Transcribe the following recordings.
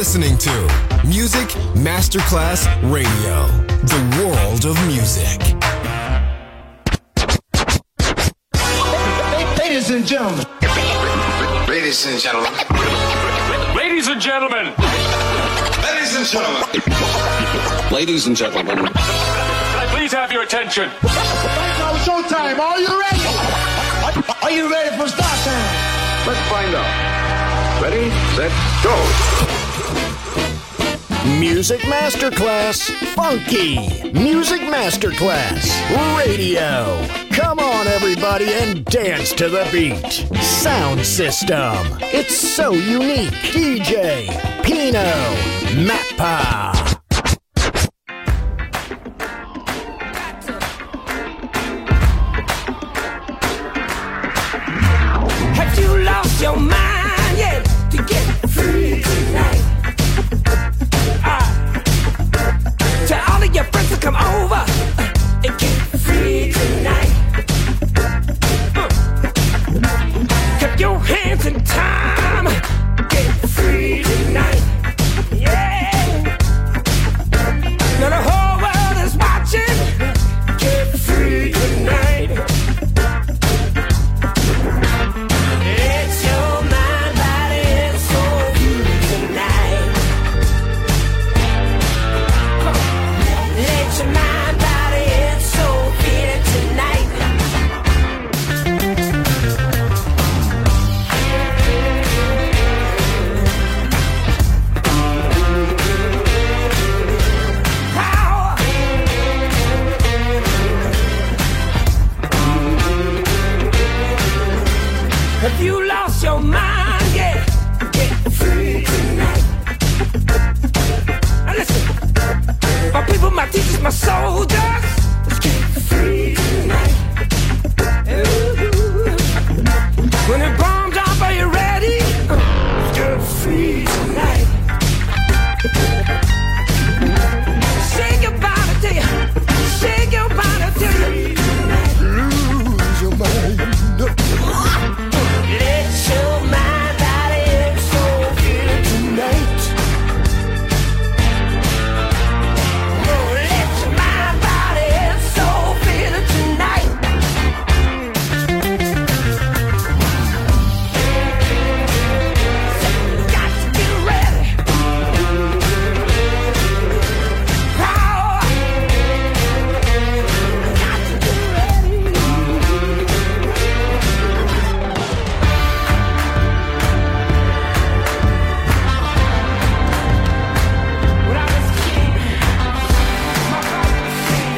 listening to Music Masterclass Radio, the world of music. Ladies and gentlemen. Ladies and gentlemen. Ladies and gentlemen. Ladies and gentlemen. Ladies and gentlemen. Can I please have your attention? Right now, showtime. Are you ready? Are you ready for start time? Let's find out. Ready, set, go. Music Masterclass Funky. Music Masterclass Radio. Come on, everybody, and dance to the beat. Sound system. It's so unique. DJ Pino Mappa. Have you lost your mind yet to get free tonight? Tell all of your friends to come over and get free tonight. Keep your hands in time. Get free tonight. Yeah. Now the whole world is watching. Get free tonight. It's your mind, body, and soul tonight. Let your mind, body, and soul feel it tonight. Power. Have you lost your mind yet? Get free tonight. Now listen, my people, my teachers, my soldiers, let's get free tonight. Ooh. When it bombs up, are you ready? Let's get free tonight. Shake your body till you, shake your body till you lose your mind. Let your mind, body, and soul feel it tonight. Oh, let your mind, body, and soul feel it tonight. Got to get ready. Power. Got to get ready. When I was a kid, my father would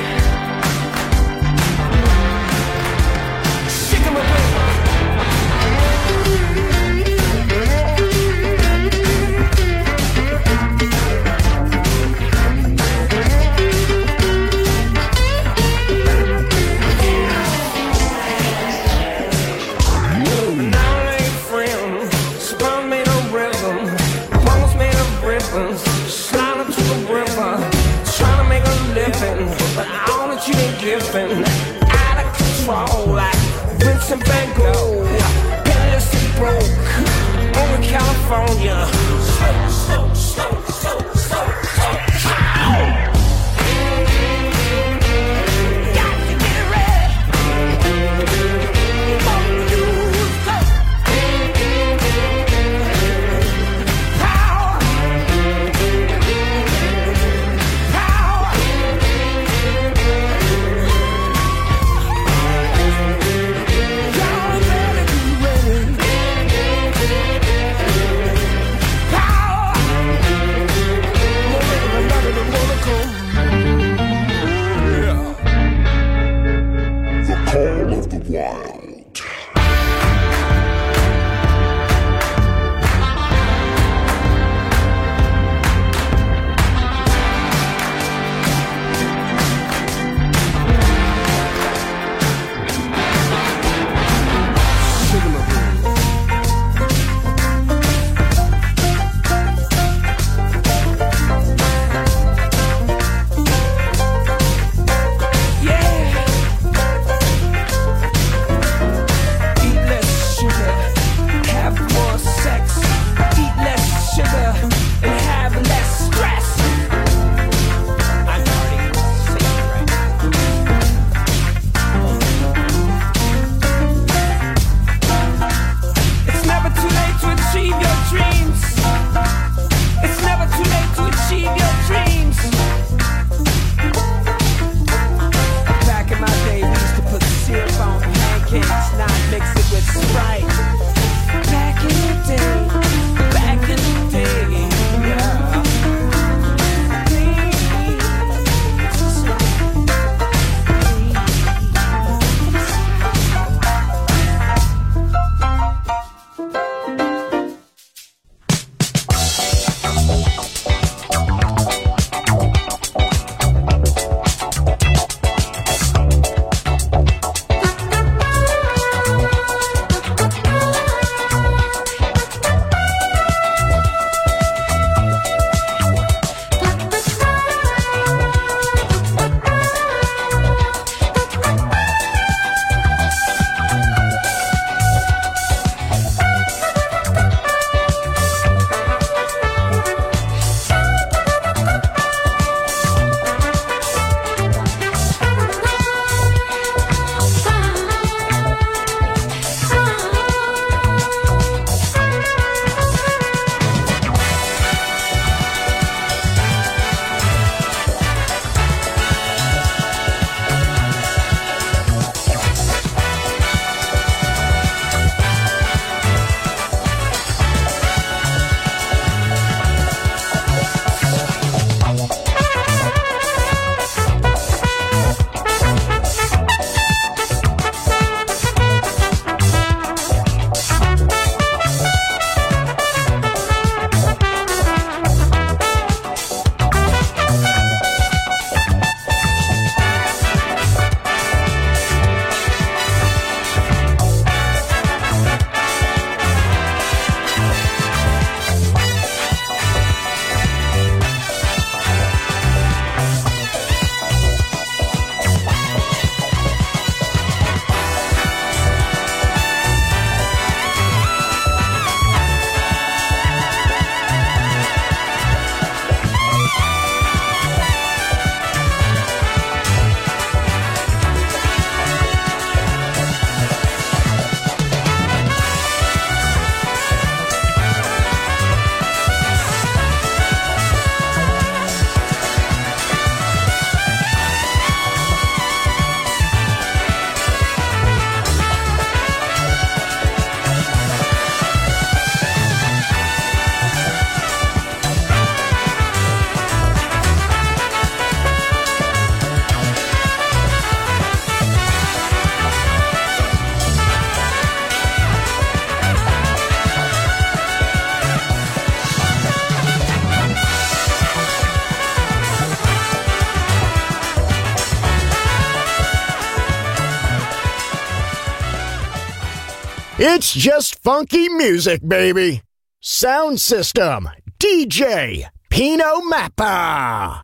sing, "Shake 'em away." Now they friends, spun made of rhythm, bones made of ribbons, sliding to the river, trying to make a living, but all that you ain't giving, out of control like Vincent Van Gogh, penniless and broke, over California. Got to get ready. Before you go. Power. Power. Y'all better be ready. Power. It's just funky music, baby. Sound system, DJ Pino Mappa.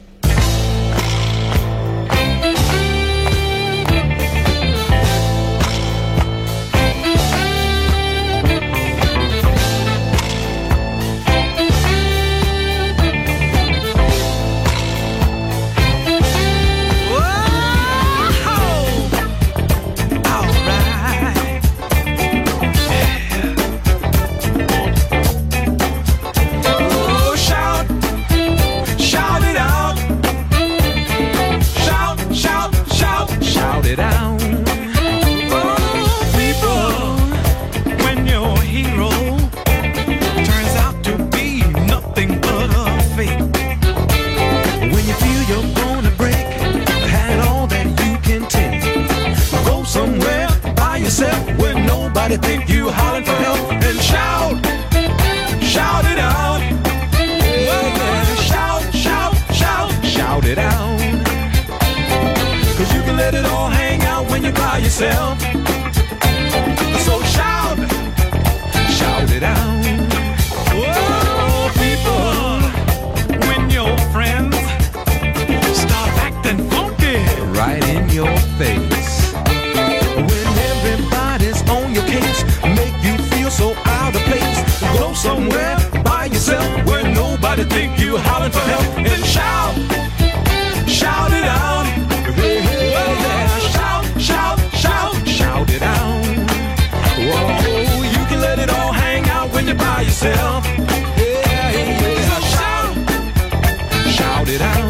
Nobody think you hollering for help and shout, shout it out. Yeah, shout, shout, shout, shout it out. 'Cause you can let it all hang out when you're by yourself. So shout, shout it out. Oh, people, when your friends start acting funky right in your face. Make you feel so out of place. Go somewhere by yourself where nobody think you hollering for help and shout, shout it out. Yeah, shout, shout, shout, shout it out. Whoa, you can let it all hang out when you're by yourself. Yeah, yeah, so shout, shout it out.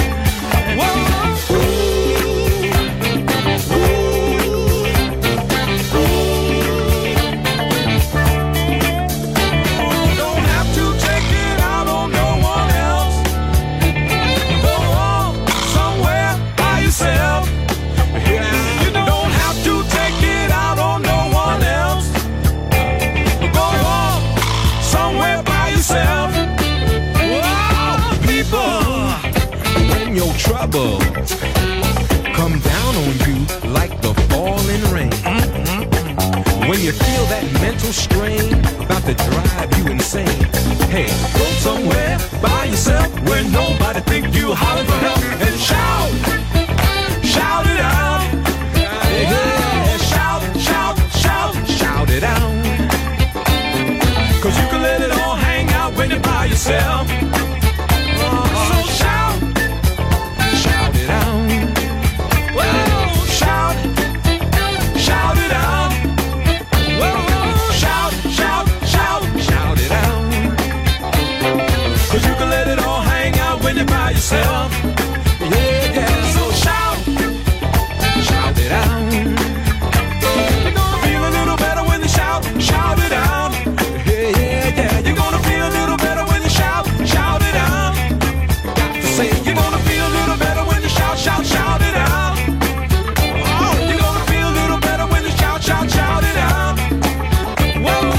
Troubles come down on you like the falling rain. When you feel that mental strain about to drive you insane, hey, go somewhere by yourself where nobody think you hollering for help and shout, shout it out. Yeah, shout, shout, shout, shout it out. 'Cause you can let it all hang out when you're by yourself. So shout, shout it out. Whoa, shout, shout it out. Whoa, shout, shout, shout, shout it out. 'Cause you can let it all hang out when you're by yourself. Yeah, yeah, so shout, shout it out. You're gonna feel a little better when you shout, shout it out. Yeah, yeah, yeah, you're gonna feel a little better when you shout, shout it out. Got to say, you're gonna feel a little better when you shout, shout, shout it out. Oh, you're gonna feel a little better when you shout, shout, shout it out. Whoa.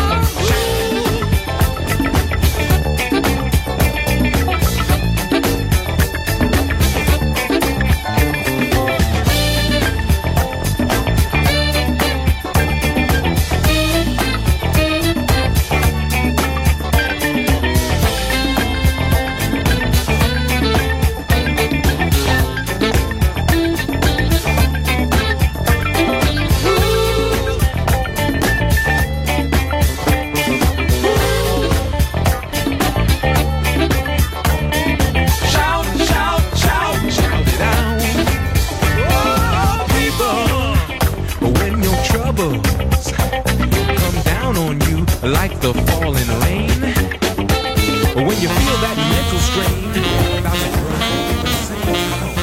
Like the falling rain. When you feel that mental strain about to drive you insane.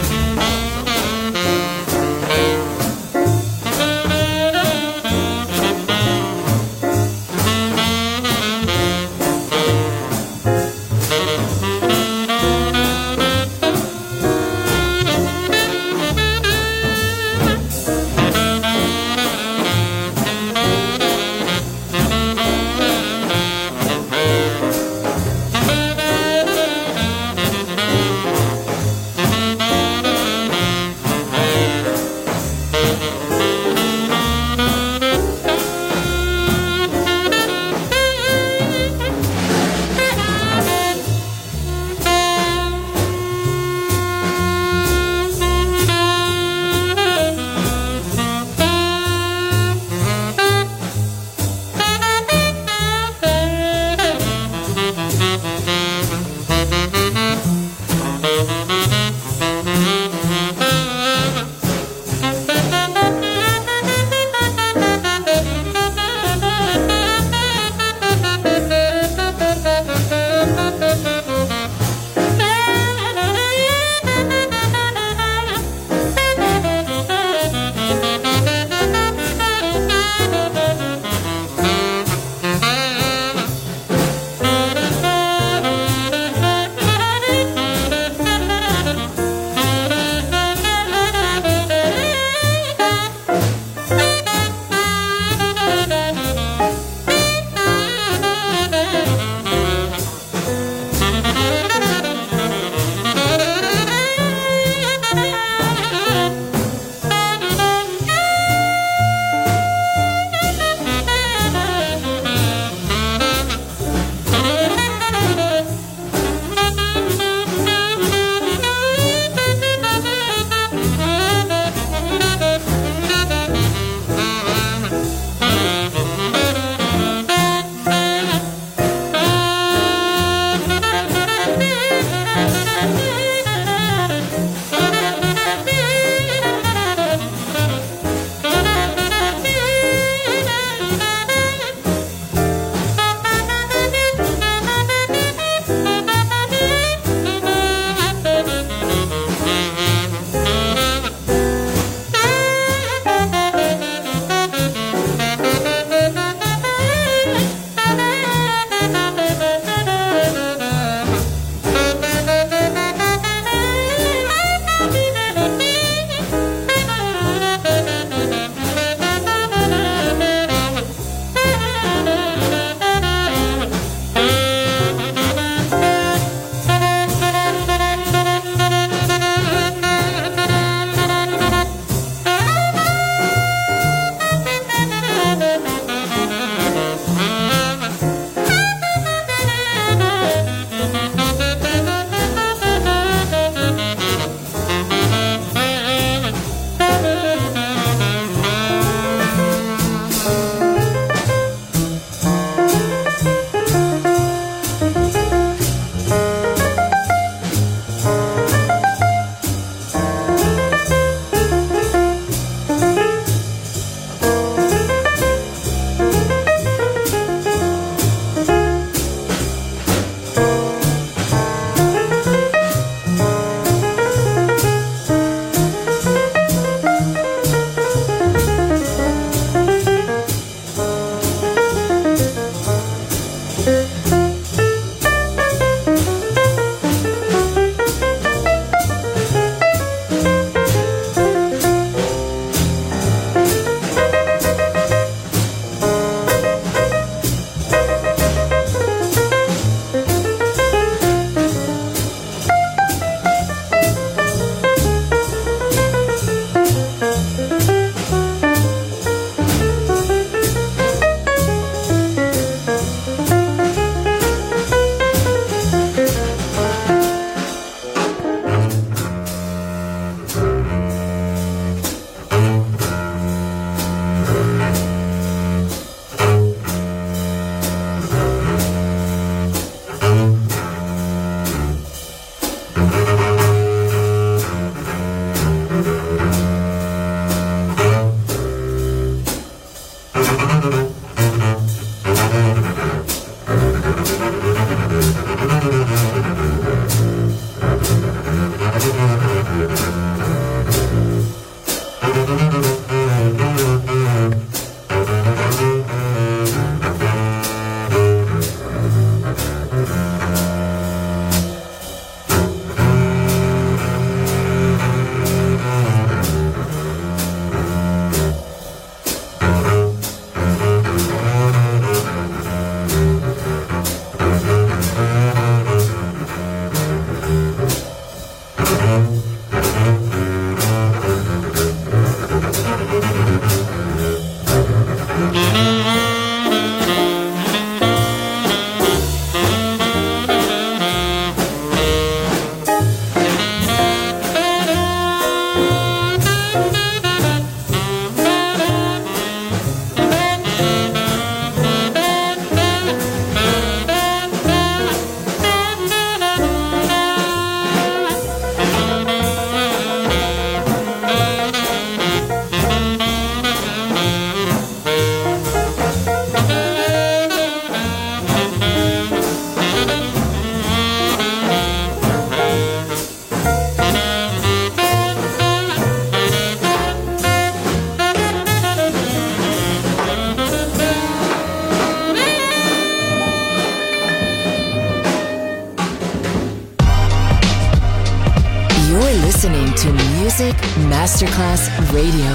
listening to Music Masterclass Radio.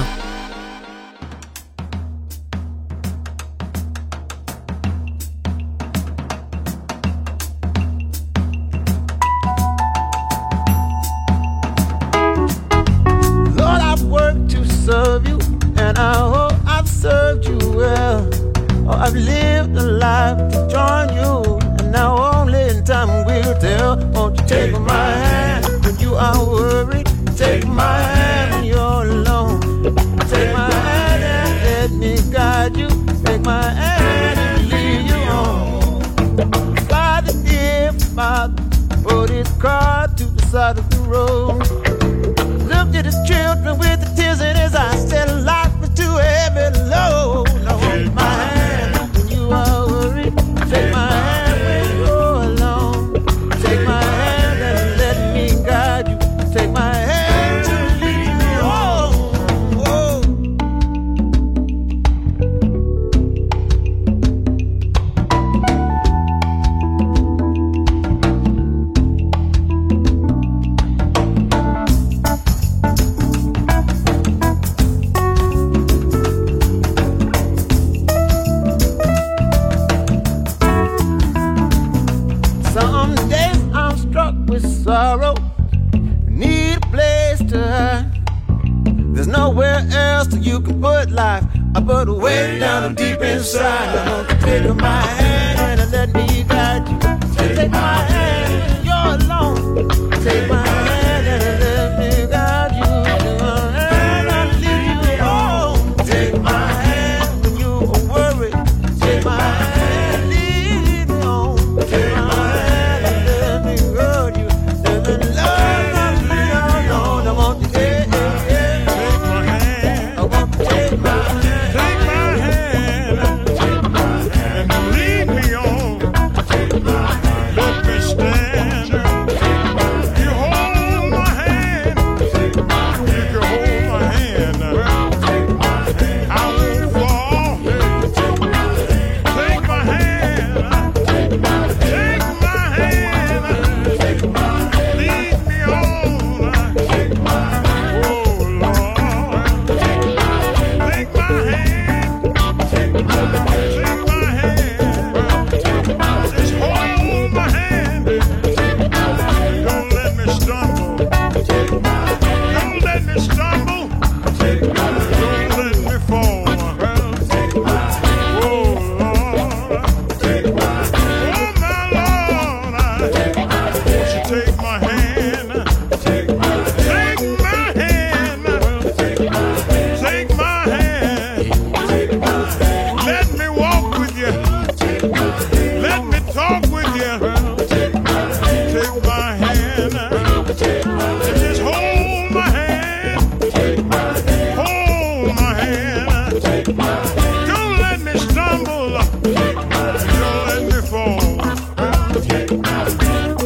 Lord, I've worked to serve you, and I hope I've served you well. Oh, I've lived a life to join you, and now only in time will tell. Won't you take my hand when you are worried? Take my hand when you're alone. Take my hand and let me guide you. Take my hand and lead you on. Father, dear Father, put his car to the side of the road. Looked at his children with the tears in his eyes, said life was too heavy low. Now hold my hand when you are worried. Take my hand when you're alone. Take my hand and let me guide you. Take my hand to lead me home. Oh. Some days I'm struck with sorrow, need a place to hide. There's nowhere else that you can put life. I put it way down deep inside. I want you to take my hand and let me guide you. Take my hand when you're alone. Take my hand and let me guide you. Take my hand and lead you home. Take my hand when you are worried. Take my hand, lead me home. Take my hand and let me guide you. There's a love that's been alone. I want you to take my hand. I want you to take my hand. Take my hand and lead me on. Let me stand. You hold my hand. You can hold my hand. I won't fall. Take my hand. Take my hand. Lead me on. Oh Lord. Take my hand. Take my hand. Just hold my hand. Don't let me stumble. Don't let me stumble. Don't let me fall. Oh Lord. Oh my Lord. Won't you take my hand? Take my hand. Take my hand. Let me walk with you. Let me talk with you. Take my hand. Just hold my hand. Hold my hand. Don't let me stumble. Don't let me fall.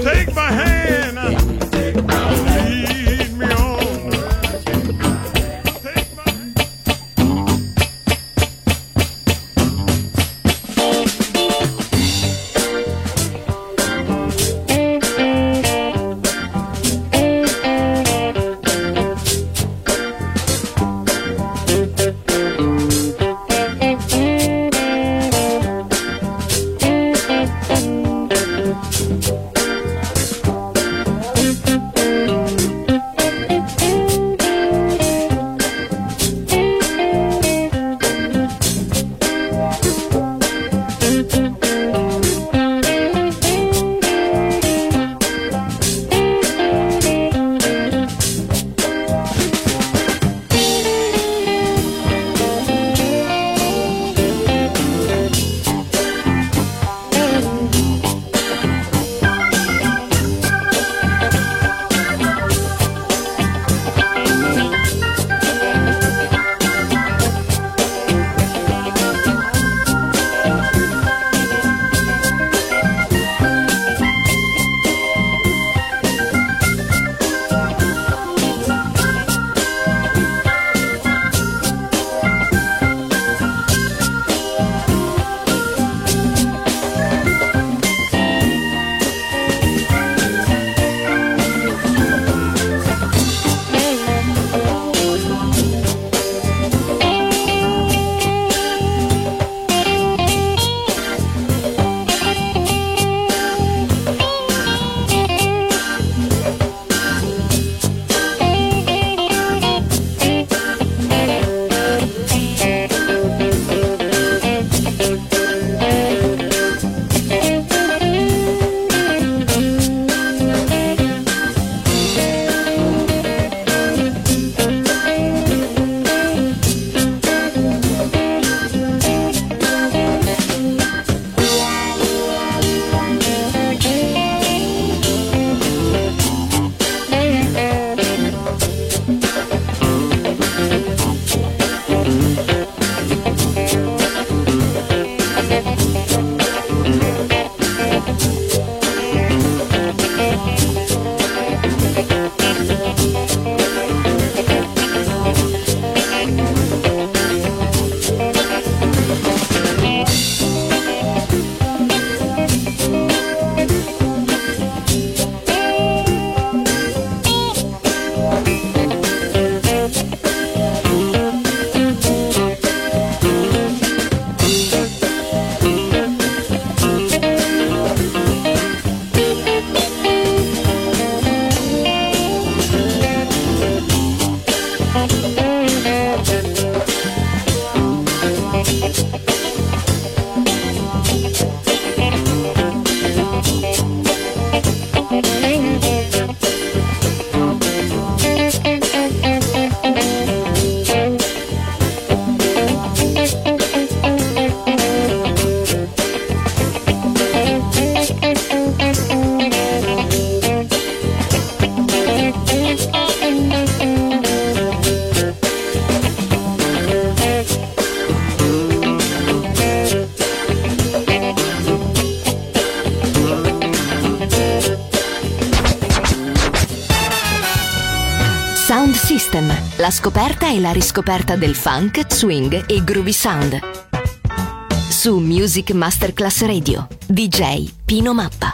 Sound System, la scoperta e la riscoperta del funk, swing e groovy sound. Su Music Masterclass Radio, DJ Pino Mappa.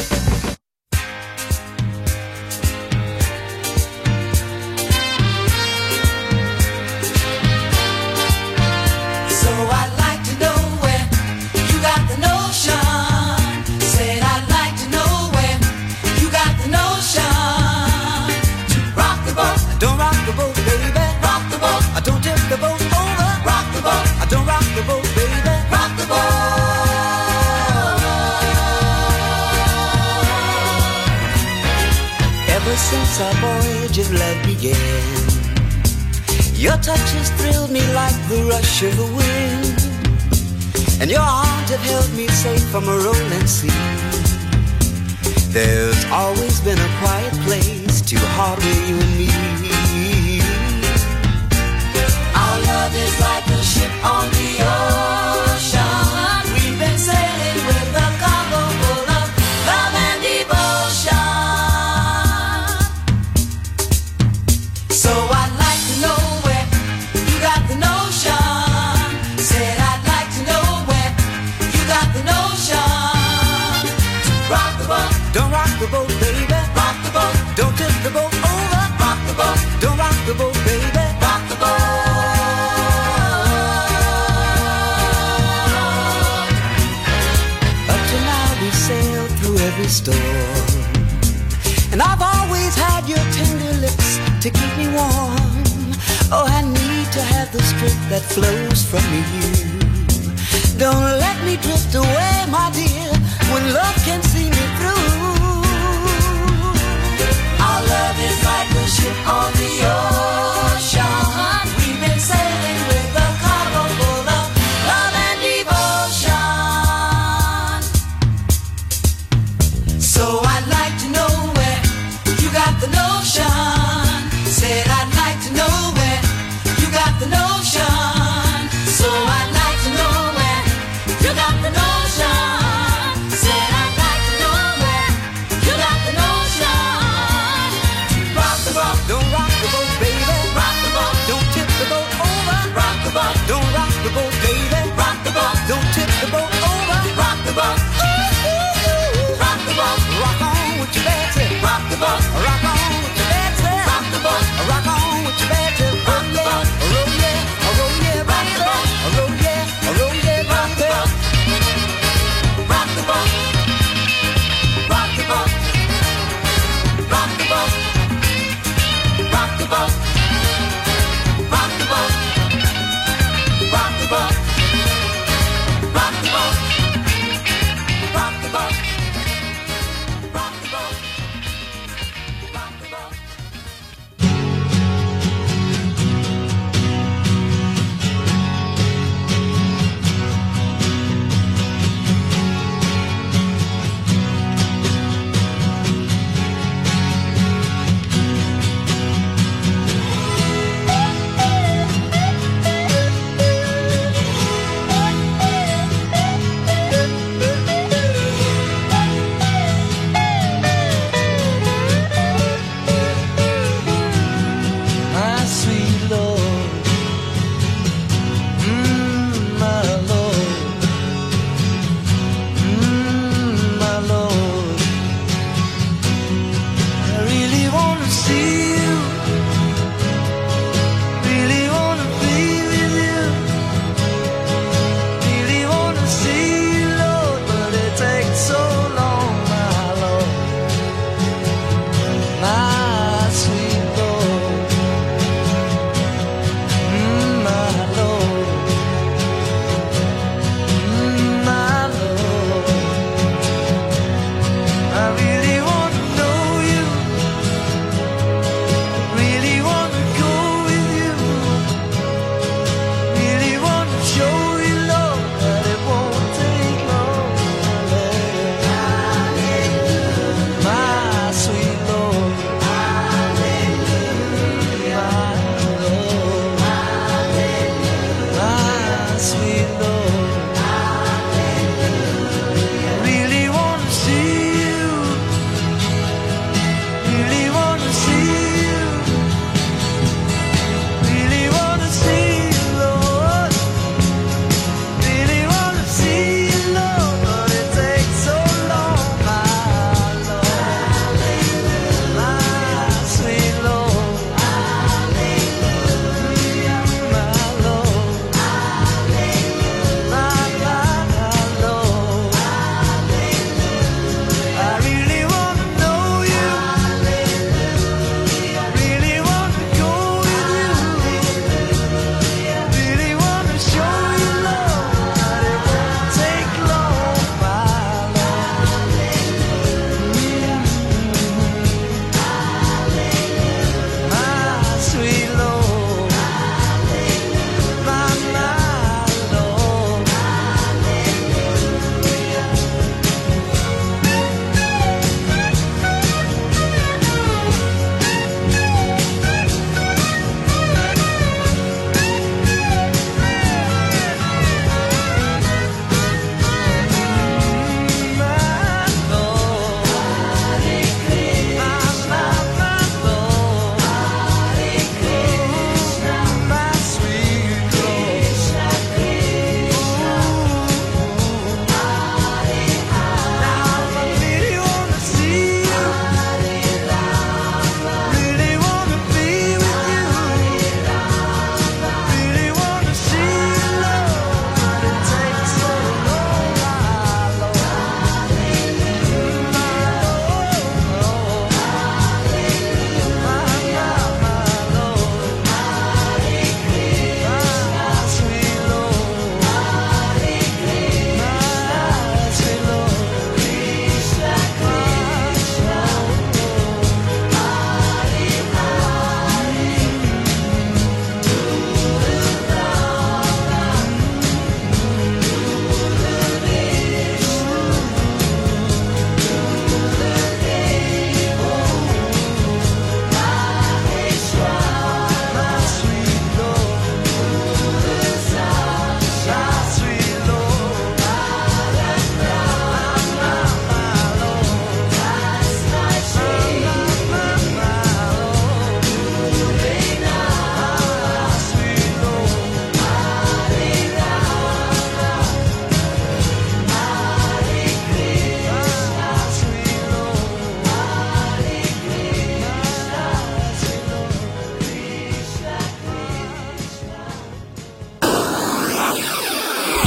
Since our voyage of love began, your touch has thrilled me like the rush of the wind, and your arms have held me safe from a rolling sea. There's always been a quiet place to harbor you and me. Our love is like a ship on the ocean. We've been sailing with a cargo full of love and devotion. So I'd like to know where you got the notion. Said I'd like to know where you got the notion. Rock the boat, don't rock the boat, baby. Rock the boat, don't tip the boat over. Rock the boat, don't rock the boat, baby. Rock the boat. Up to now we sailed through every storm, and I've always had your tender lips to keep me warm. Oh, I need to have the strength that flows from you. Don't let me drift away, my dear, when love can see me through. Our love is like a ship on the ocean. We've been sailing with a cargo full of love and devotion. So I'd like to know where you got the notion. Said I'd like to know where you got the notion. So I'd like to know where you got the notion. Said I'd like to know where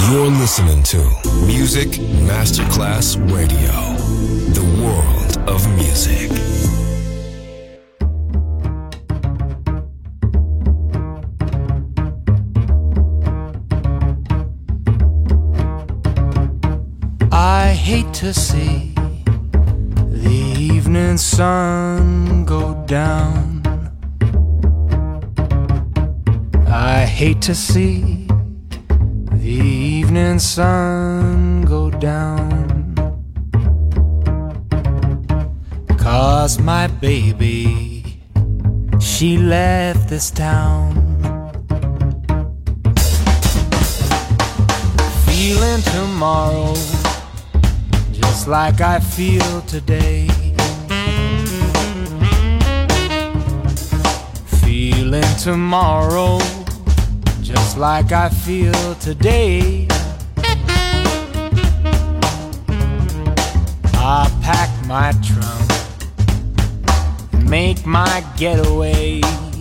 You're listening to Music Masterclass Radio, the world of music. I hate to see the evening sun go down. I hate to see the evening sun go down, 'cause my baby, she left this town. Feeling tomorrow just like I feel today. Feeling tomorrow just like I feel today. I pack my trunk and make my getaway.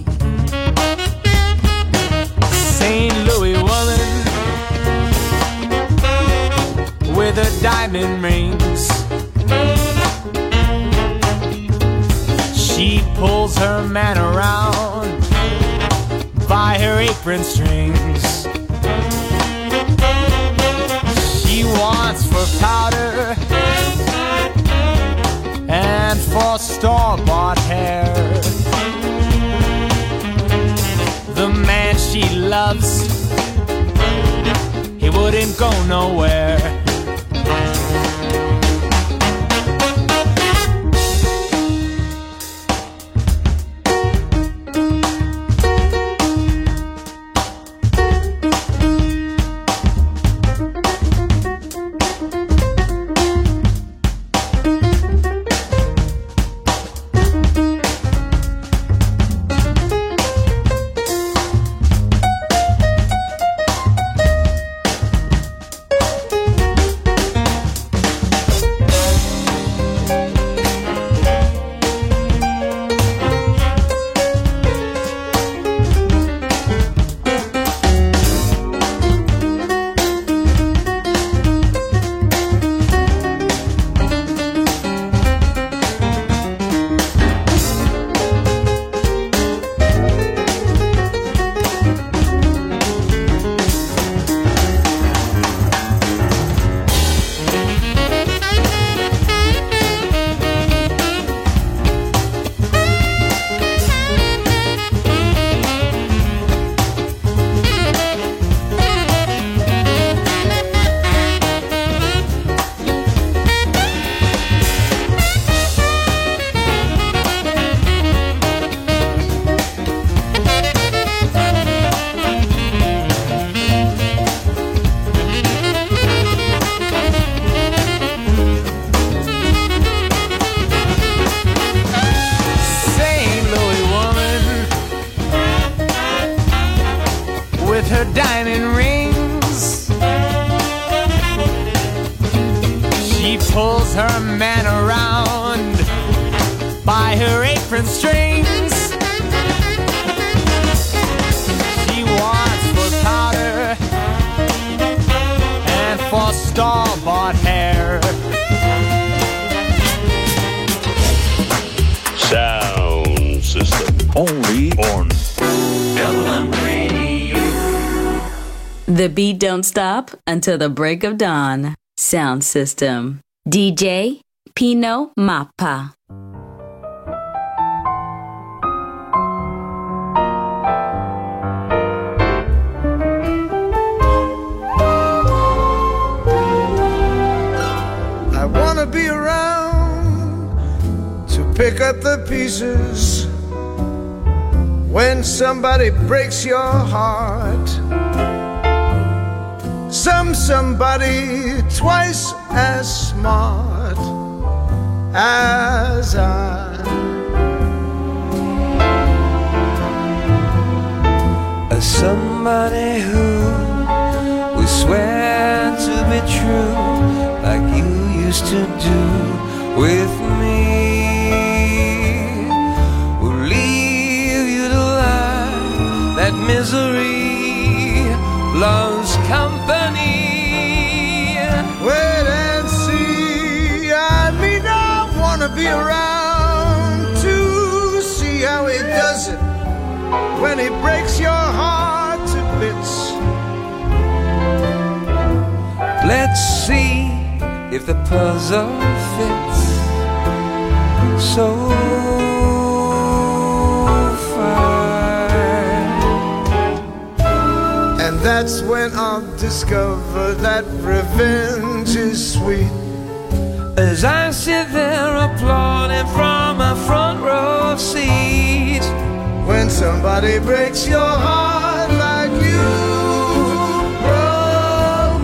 St. Louis woman with her diamond rings, she pulls her man around by her apron strings. She wants for powder and for store-bought hair. The man she loves, he wouldn't go nowhere. The beat don't stop until the break of dawn. Sound System. DJ Pino Mappa. I wanna be around to pick up the pieces when somebody breaks your heart. Somebody twice as smart as I. Somebody who we swear to be true, like you used to do with me. We'll leave you to lie that misery loves company. when he breaks your heart to bits. Let's see if the puzzle fits so fine. And that's when I'll discover that revenge is sweet. As I sit there applauding from my front row seat, when somebody breaks your heart like you broke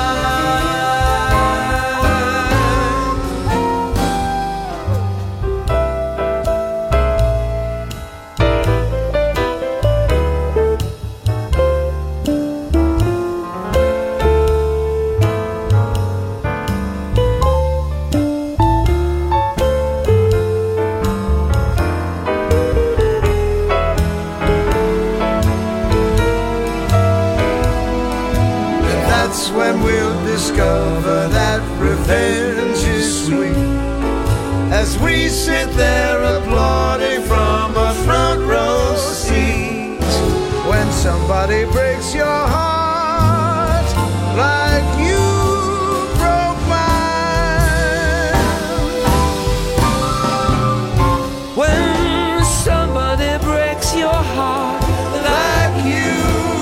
when we'll discover that revenge is sweet. As we sit there applauding from a front row seat, when somebody breaks your heart like you broke mine. when somebody breaks your heart like you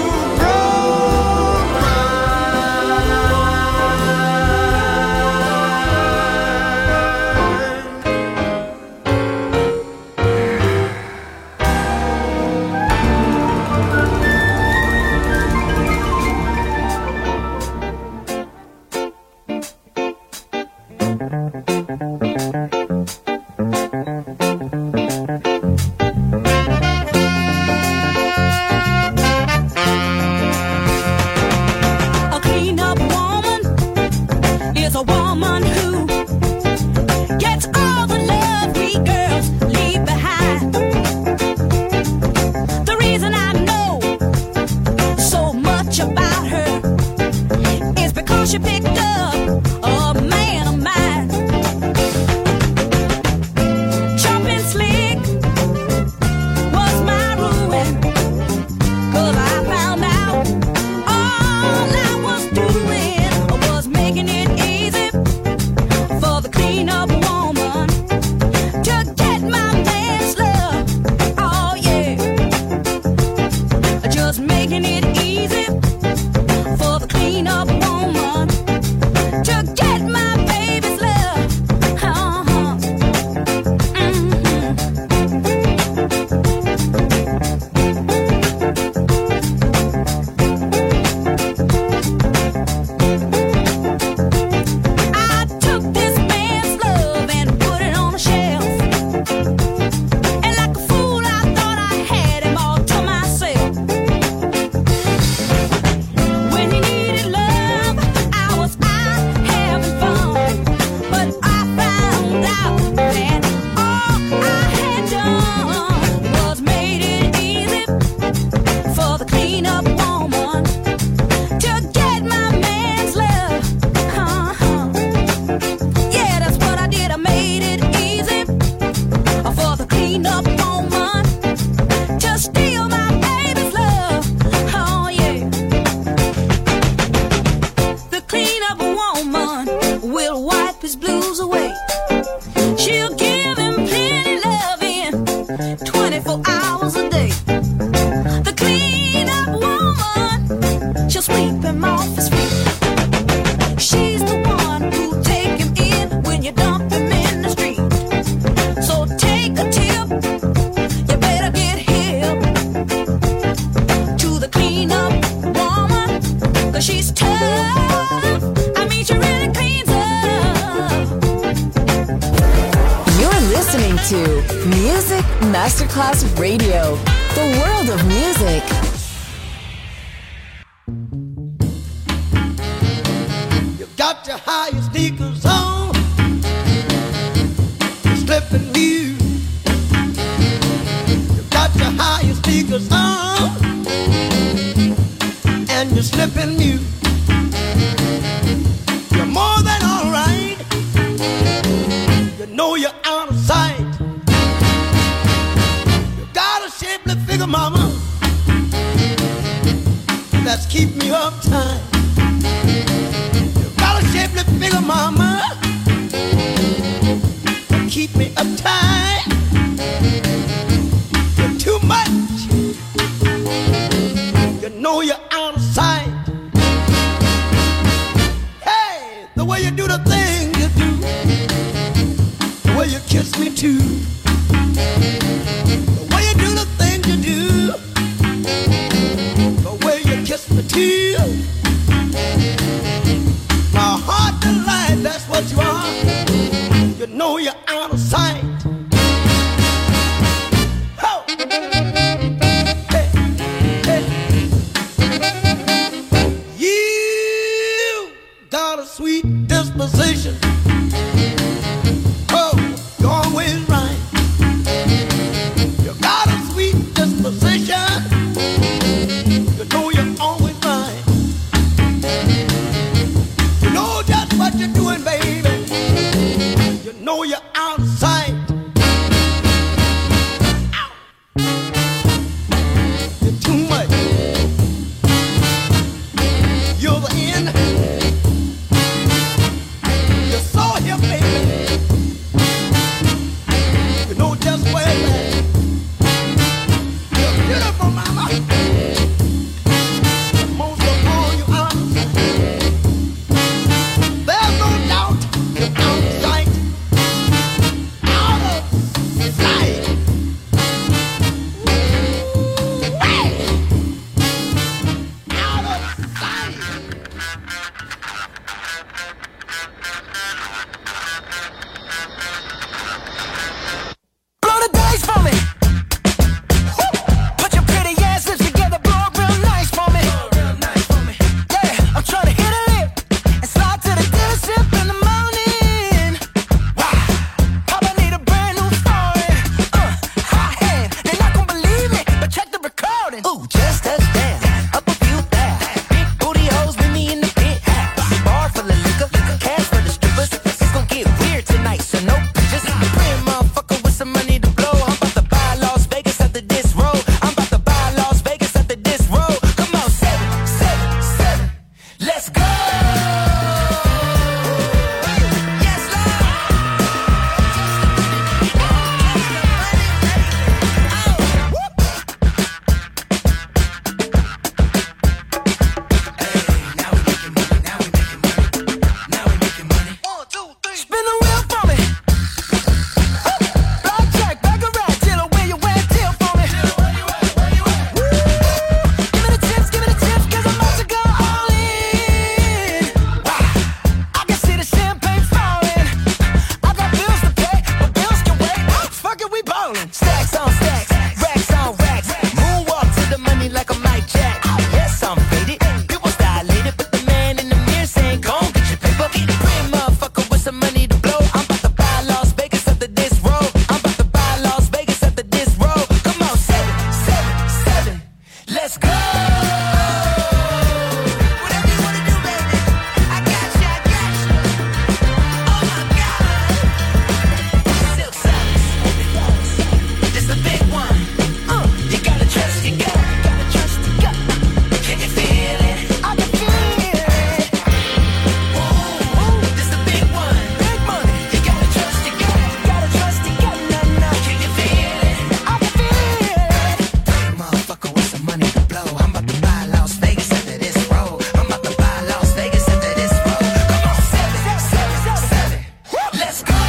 Music Masterclass Radio, the world of music. You got your highest sneakers on, you're slipping new. You got your highest sneakers on, and you're slipping new. You're more than all right. You know you're out of sight. Figure, mama, keep me uptight. You got a shapely figure, mama, keep me uptight. You're too much. You know you're out of sight. Hey, the way you do the thing you do, the way you kiss me too, the way you do the thing you do, the way you kiss me too. My heart delight, that's what you are. You know you're out of sight. Oh. Hey, hey. You got a sweet disposition. Oh, you're always right. You got a sweet disposition. You know you're always right. You know just what you're doing, baby. You know you're out of sight. Ow. You're too much. You're the end. You're so here, baby. You know just where it's at. You're beautiful, mama. Most of all, you're out of sight. There's no doubt you're out of sight. Out of sight. Hey! Out of sight. Blow the dice for me. Put your pretty ass lips together, blow it real nice for me. Yeah, I'm trying to hit a lick and slide to the dealership in the morning. Wow, Papa need a brand new foreign. Hot hand, they're not gonna believe me, but check the recording. Ooh, just touchdown, up a few thousand. Big booty hoes with me in the pit. Bar full of liquor, cash for the strippers. It's gonna get weird tonight, so no pictures. Pretty motherfucker with some money to blow. I'm about to buy Las Vegas after this road. I'm about to buy Las Vegas after this road. Come on, 7, 7, 7. Let's go. Yes, Lord. Spin the wheel for me. Blackjack, baccarat, dealer, where you at? Deal for me. Give me the tips, 'cause I'm about to go all in. I can see the champagne falling. I got bills to pay, but bills can wait. Fuck it, we ballin'. Stacks on stacks, racks on racks. Moonwalk to the money like I'm Mike Jack. Yes, I'm faded. People dilated, but the man in the mirror saying, "Go on, get your paper." Pretty motherfucker with some money to blow. I'm about to buy Las Vegas after this road. I'm about to buy Las Vegas after this road. Come on, 7, 7, 7. Let's go. Whatever you wanna do, baby. I got you, I got you. Oh my God. Silk socks. This a big one. You gotta trust your gut. Gotta trust your gut. Can you feel it? I can feel it. This a big one. Big money. You gotta trust your gut. Gotta trust your gut. No. Can you feel it? I can feel it. Motherfucker with some money to blow. I'm about to buy Las Vegas after this road. I'm about to buy Las Vegas after this road. Come on, 7, 7, 7. Let's go.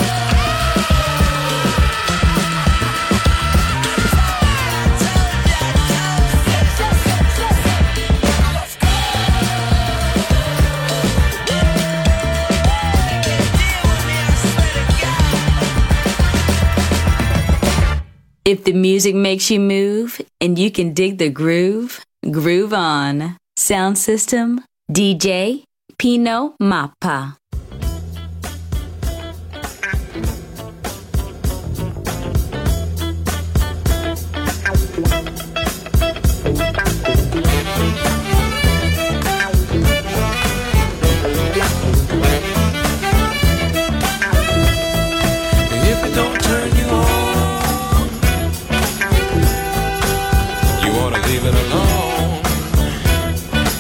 If the music makes you move and you can dig the groove, groove on. Sound system, DJ Pino Mappa. Leave it alone.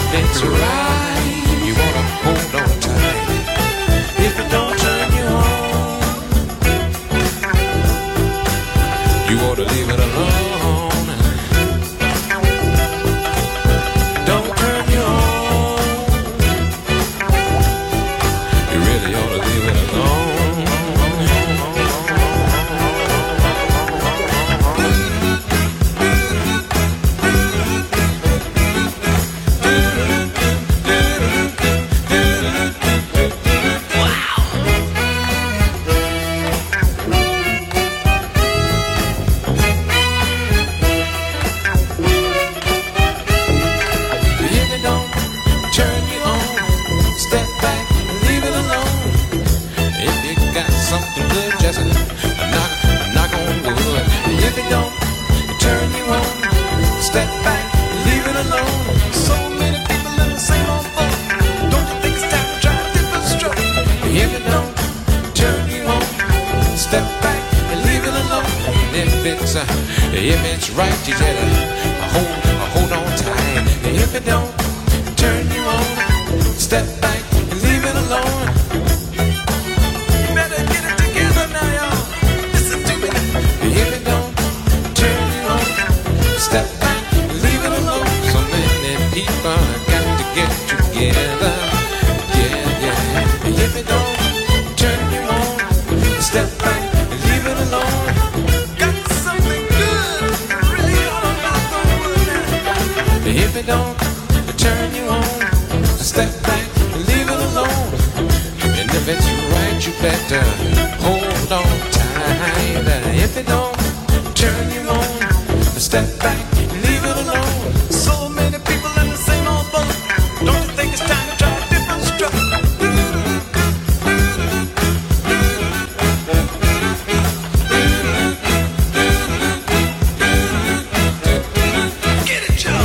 if it's right, you wanna hold on tight. If it don't turn you on, you ought to leave it alone. Don't turn you on, you really ought to leave it alone. If it's right, you better hold on tight. If it don't turn you on, step back and leave it alone. You better get it together now, y'all. Listen to me. If it don't turn you on, step back and leave it alone. So many people got to get together. Yeah, yeah. If it don't turn you on, step back and leave it alone. If it don't turn you on, step back and leave it alone. And if it's right, you better hold on tight. If it don't turn you on, step back and leave it alone. So many people in the same old boat. Don't you think it's time to try a different stroke? Get it, Joe.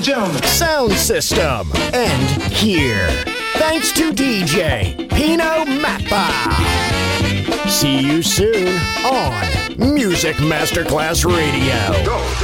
gentlemen. Sound system. And here. Thanks to DJ Pino Mappa. See you soon on Music Masterclass Radio. Go.